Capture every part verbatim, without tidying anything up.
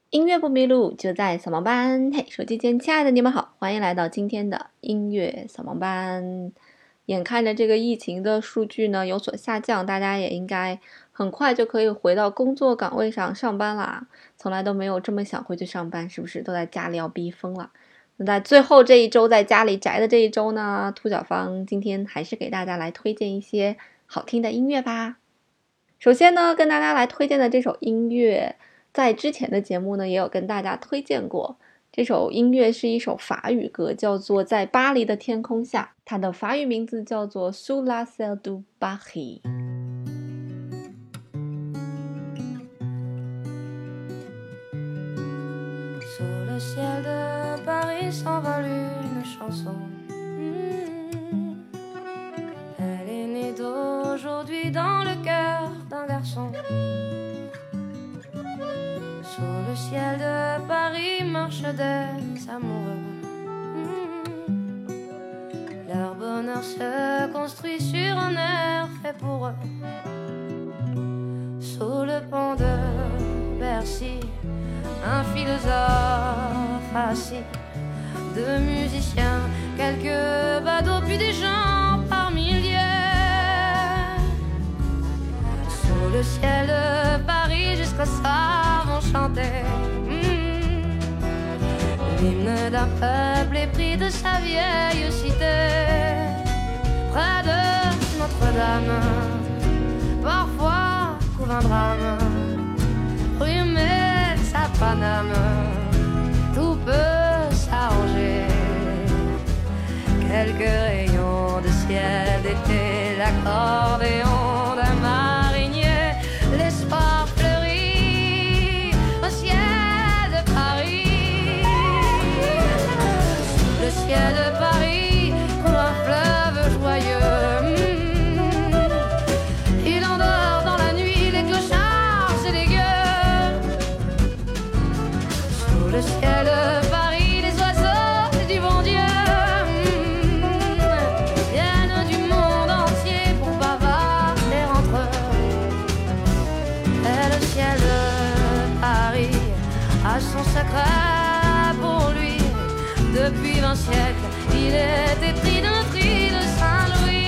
音乐不迷路，就在扫盲班。嘿，手机前亲爱的你们好，欢迎来到今天的音乐扫盲班。眼看着这个疫情的数据呢有所下降，大家也应该很快就可以回到工作岗位上上班啦。从来都没有这么想回去上班，是不是都在家里要逼疯了？那在最后这一周在家里宅的这一周呢，兔小芳今天还是给大家来推荐一些好听的音乐吧。首先呢，跟大家来推荐的这首音乐，在之前的节目呢也有跟大家推荐过。这首音乐是一首法语歌，叫做《在巴黎的天空下》，它的法语名字叫做 Sous le ciel de Paris。 Sous le ciel de Paris s'envole une chanson. Mmh. Elle est née d'aujourd'hui dans le cœur d'un garçon. Sous le ciel de Paris marchent des amoureux. Mmh. Leur bonheur se construit sur un air fait pour eux. Sous le pont de Bercy, un philosophe assis, deux musiciens, quelques badauds, puis des gens par milliers. Sous le ciel de Paris, jusqu'au soir vont chanter mmh, l'hymne d'un peuple épris de sa vieille cité. Près de Notre-Dame, parfois couvre un drame. Rue sa Paname, tout peut s'arranger. Quelques rayons de ciel d'été, l'accordéon d'un marinier, l'espoir fleurit au ciel de Paris. Sous le ciel de Paris coule un fleuve joyeux. Il endort dans la nuit les clochards et les gueux. Sous le ciel de Paris, les oiseaux du bon Dieu mmh, viennent du monde entier pour bavarder entre eux. Et le ciel de Paris a son secret pour lui. Depuis vingt siècles, il est épris d'un tri de Saint-Louis.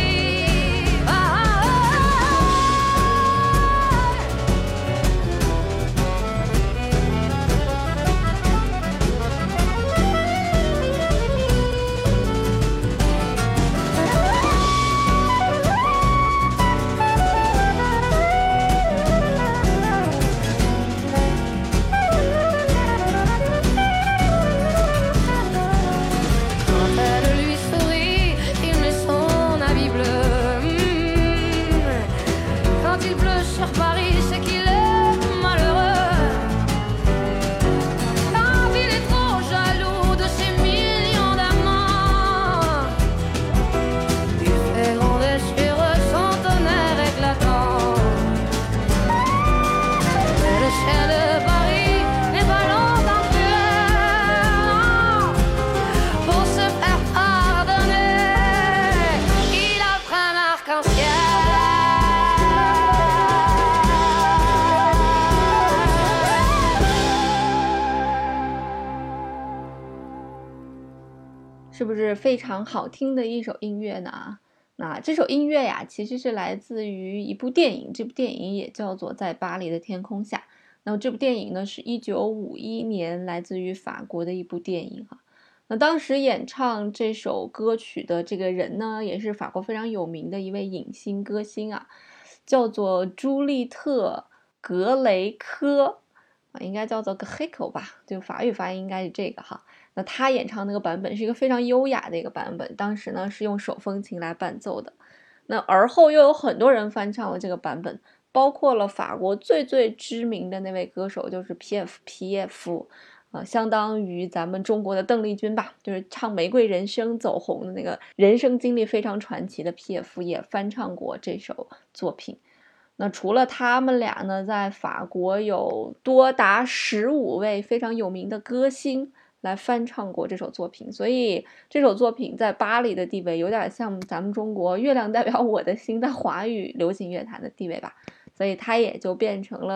是不是非常好听的一首音乐呢？那这首音乐呀，其实是来自于一部电影，这部电影也叫做《在巴黎的天空下》。那么这部电影呢，是一九五一年来自于法国的一部电影哈。那当时演唱这首歌曲的这个人呢，也是法国非常有名的一位影星歌星啊，叫做朱丽特·格雷科啊，应该叫做 Grieco 吧，就法语发音应该是这个哈。那他演唱那个版本是一个非常优雅的一个版本，当时呢是用手风琴来伴奏的。那而后又有很多人翻唱了这个版本，包括了法国最最知名的那位歌手，就是皮耶夫皮耶夫，呃，相当于咱们中国的邓丽君吧，就是唱《玫瑰人生》走红的那个人生经历非常传奇的皮耶夫也翻唱过这首作品。那除了他们俩呢，在法国有多达十五位非常有名的歌星来翻唱过这首作品，所以这首作品在巴黎的地位有点像咱们中国月亮代表我的心在华语流行乐坛的地位吧，所以它也就变成了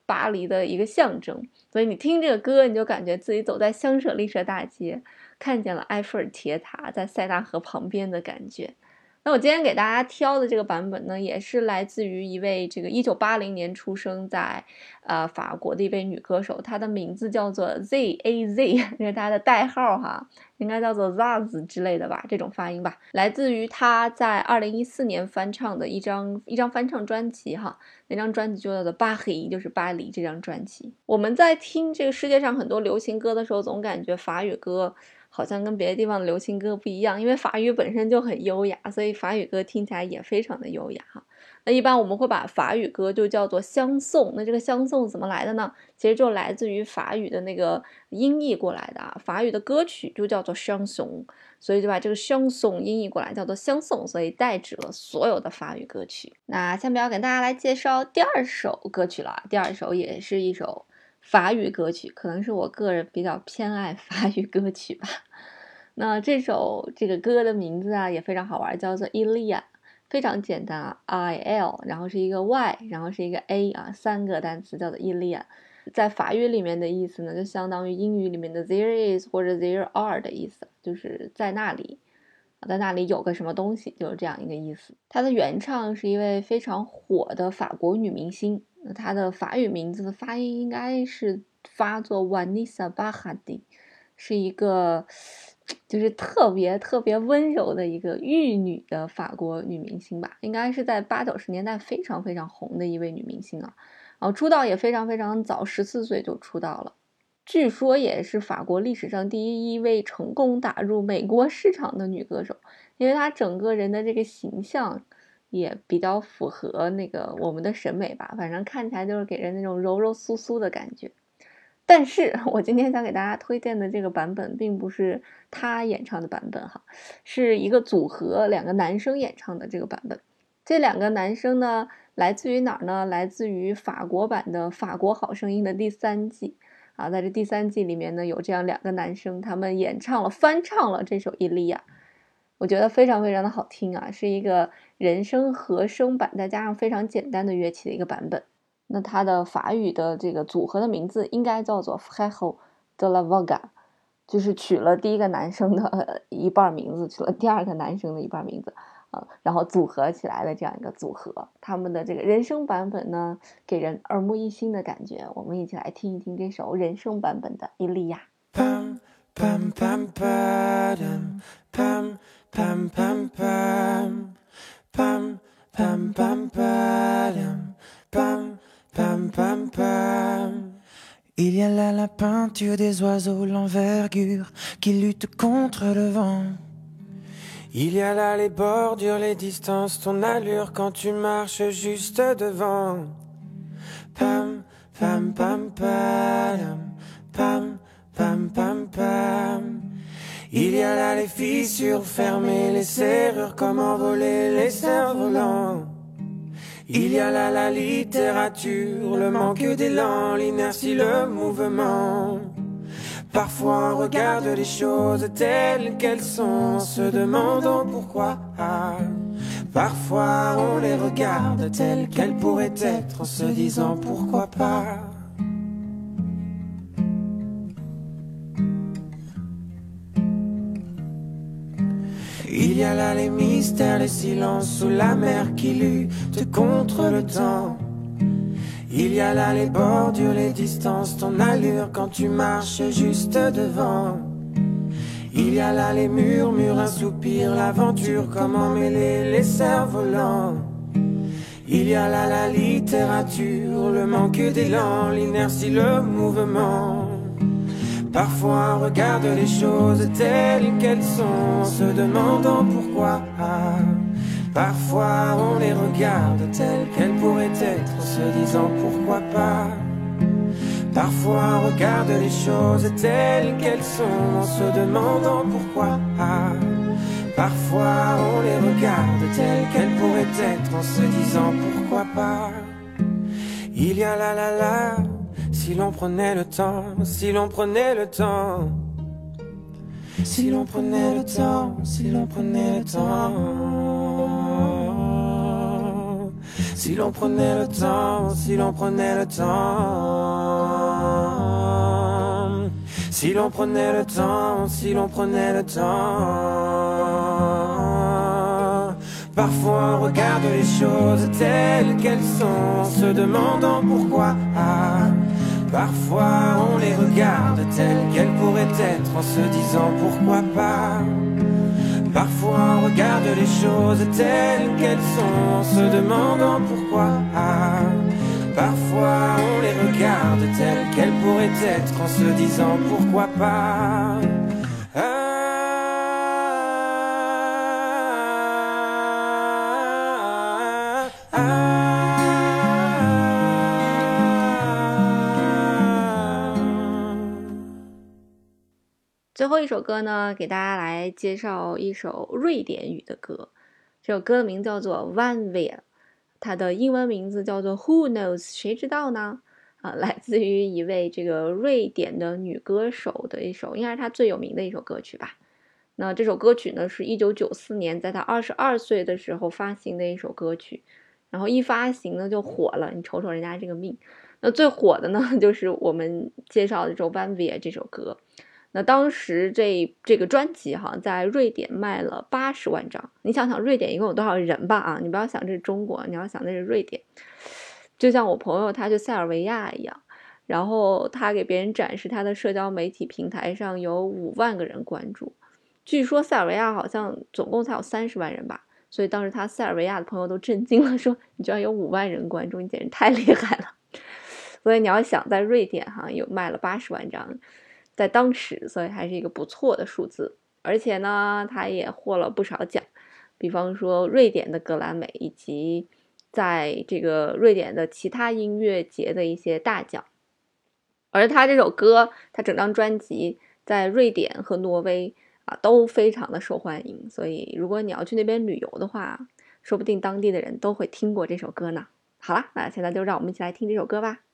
巴黎的一个象征。所以你听这个歌，你就感觉自己走在香舍丽舍大街，看见了埃菲尔铁塔在塞纳河旁边的感觉。那我今天给大家挑的这个版本呢，也是来自于一位这个一九八零年出生在呃法国的一位女歌手，她的名字叫做 Z A Z， 这是她的代号哈，应该叫做 Zaz 之类的吧，这种发音吧。来自于她在二零一四年翻唱的一张一张翻唱专辑哈，那张专辑就叫做巴黎，就是巴黎这张专辑。我们在听这个世界上很多流行歌的时候，总感觉法语歌好像跟别的地方的流行歌不一样，因为法语本身就很优雅，所以法语歌听起来也非常的优雅哈。那一般我们会把法语歌就叫做香颂，那这个香颂怎么来的呢？其实就来自于法语的那个音译过来的啊，法语的歌曲就叫做香颂，所以就把这个香颂音译过来叫做香颂，所以代指了所有的法语歌曲。那下面要给大家来介绍第二首歌曲了，第二首也是一首法语歌曲，可能是我个人比较偏爱法语歌曲吧。那这首这个歌的名字啊也非常好玩，叫做 Ilia， 非常简单啊 I L， 然后是一个 Y， 然后是一个 A 啊，三个单词叫做 Ilia。在法语里面的意思呢，就相当于英语里面的 there is 或者 there are 的意思，就是在那里，在那里有个什么东西，就是这样一个意思。它的原唱是一位非常火的法国女明星，她的法语名字的发音应该是发作 Vanessa Paradis， 是一个就是特别特别温柔的一个玉女的法国女明星吧，应该是在八九十年代非常非常红的一位女明星啊。然后出道也非常非常早，十四岁就出道了，据说也是法国历史上第一位成功打入美国市场的女歌手，因为她整个人的这个形象也比较符合那个我们的审美吧，反正看起来就是给人那种柔柔酥酥的感觉。但是我今天想给大家推荐的这个版本并不是她演唱的版本哈，是一个组合两个男生演唱的这个版本。这两个男生呢来自于哪儿呢？来自于法国版的法国好声音的第三季啊，在这第三季里面呢有这样两个男生，他们演唱了翻唱了这首伊利亚，我觉得非常非常的好听啊，是一个人声和声版再加上非常简单的乐器的一个版本。那它的法语的这个组合的名字应该叫做 Frères de la Voga， 就是取了第一个男生的一半名字，取了第二个男生的一半名字啊，然后组合起来的这样一个组合。他们的这个人声版本呢，给人耳目一新的感觉。我们一起来听一听这首人声版本的《伊利亚》。Pam pam pam pam pam pam pam pam pam pam pam pam pam pam pam. Il y a là la peinture des oiseaux, l'envergure qui lutte contre le vent. Il y a là les bordures, les distances, ton allure quand tu marches juste devant. Pam, pam, pam, pam, pam, pam, pam, pam. Il y a là les fissures fermées, les serrures, comment voler les cerfs-volants. Il y a là la littérature, le manque d'élan, l'inertie, le mouvement. Parfois on regarde les choses telles qu'elles sont, se demandant pourquoi. Parfois on les regarde telles qu'elles pourraient être, en se disant pourquoi pas. Il y a là les mystères, les silences sous la mer qui luttent contre le temps. Il y a là les bordures, les distances, ton allure quand tu marches juste devant. Il y a là les murmures, un soupir, l'aventure, comment mêler les cerfs-volants. Il y a là la littérature, le manque d'élan, l'inertie, le mouvement. Parfois on regarde les choses telles qu'elles sont, se demandant pourquoi. Parfois on les regarde telles qu'elles pourraient être, en se disant pourquoi pas. Parfois on regarde les choses telles qu'elles sont, en se demandant pourquoi. Parfois on les regarde telles qu'elles pourraient être, en se disant pourquoi pas. Il y a la la la, si l'on prenait le temps, si l'on prenait le temps. Si l'on prenait le temps, si l'on prenait le temps. Si l'on prenait le temps, si l'on prenait le temps, si l'on prenait le temps, si l'on prenait le temps. Parfois on regarde les choses telles qu'elles sont, en se demandant pourquoi. Parfois on les regarde telles qu'elles pourraient être, en se disant pourquoi pas. Parfois on regarde les choses telles qu'elles sont, en se demandant pourquoi. Parfois on les regarde telles qu'elles pourraient être, en se disant pourquoi pas. Ah, ah, ah. 最后一首歌呢，给大家来介绍一首瑞典语的歌。这首歌的名叫做 Vanvea， 它的英文名字叫做 Who Knows， 谁知道呢？啊，来自于一位这个瑞典的女歌手的一首，应该是她最有名的一首歌曲吧。那这首歌曲呢，是一九九四年在她二十二岁的时候发行的一首歌曲，然后一发行呢就火了，你瞅瞅人家这个命。那最火的呢，就是我们介绍的这首 Vanvea 这首歌。那当时这这个专辑哈，在瑞典卖了八十万张。你想想，瑞典一共有多少人吧？啊，你不要想这是中国，你要想那是瑞典。就像我朋友他去塞尔维亚一样，然后他给别人展示他的社交媒体平台上有五万个人关注。据说塞尔维亚好像总共才有三十万人吧，所以当时他塞尔维亚的朋友都震惊了，说你居然有五万人关注，你简直太厉害了。所以你要想在瑞典哈有卖了八十万张。在当时，所以还是一个不错的数字，而且呢，他也获了不少奖，比方说瑞典的格莱美，以及在这个瑞典的其他音乐节的一些大奖。而他这首歌，他整张专辑在瑞典和挪威啊都非常的受欢迎，所以如果你要去那边旅游的话，说不定当地的人都会听过这首歌呢。好了，那现在就让我们一起来听这首歌吧。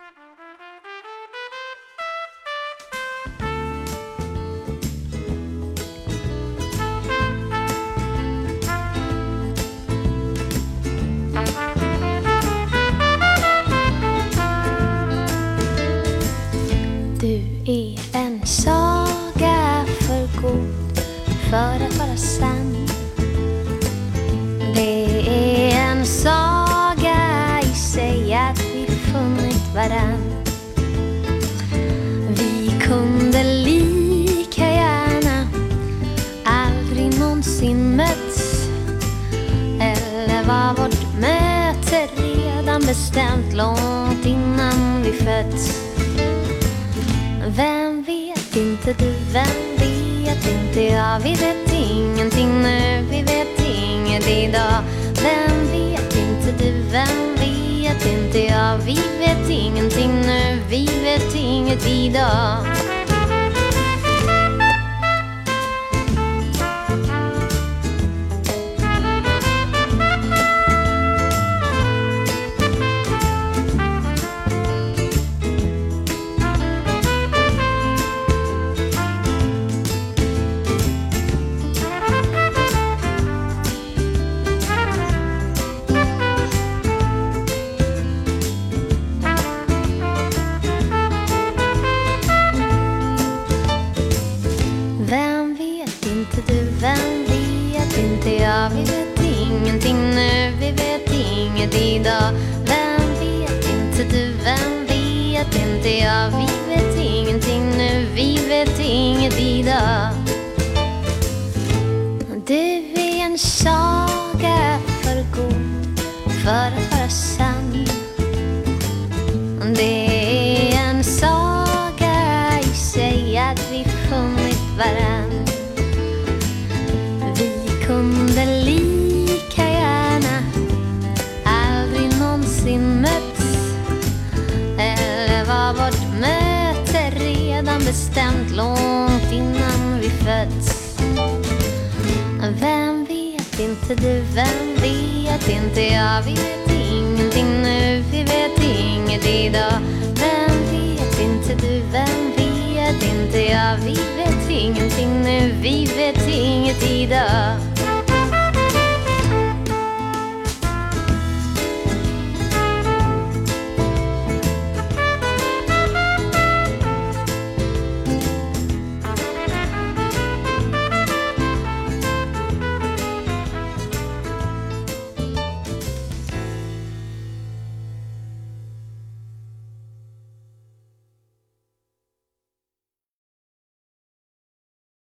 Är en saga för god för att vara sann. Det är en saga i sig att vi funnit varann. Vi kunde lika gärna aldrig någonsin mötts, eller var vårt möte redan bestämt långt innan vi fötts. Vem vet inte du, vem vet inte jag. Vi vet ingenting nu, vi vet inget idag. Vem vet inte du, vem vet inte jag. Vi vet ingenting nu, vi vet inget idag. Vi vet ingenting nu, vi vet inget idag. Vem vet inte du, vem vet inte jag. Vi vet ingenting nu, vi vet inget idag. Du är en saga för god för att vara sann. Det är en saga i sig att vi funnit varann. Kunde lika gärna aldrig någonsin mötts, eller var vårt möte redan bestämt långt innan vi fötts. Vem vet inte du, vem vet inte jag. Vi vet ingenting nu, vi vet inget idag. Vem vet inte du, vem vet inte jag. Vi vet ingenting nu, vi vet inget idag.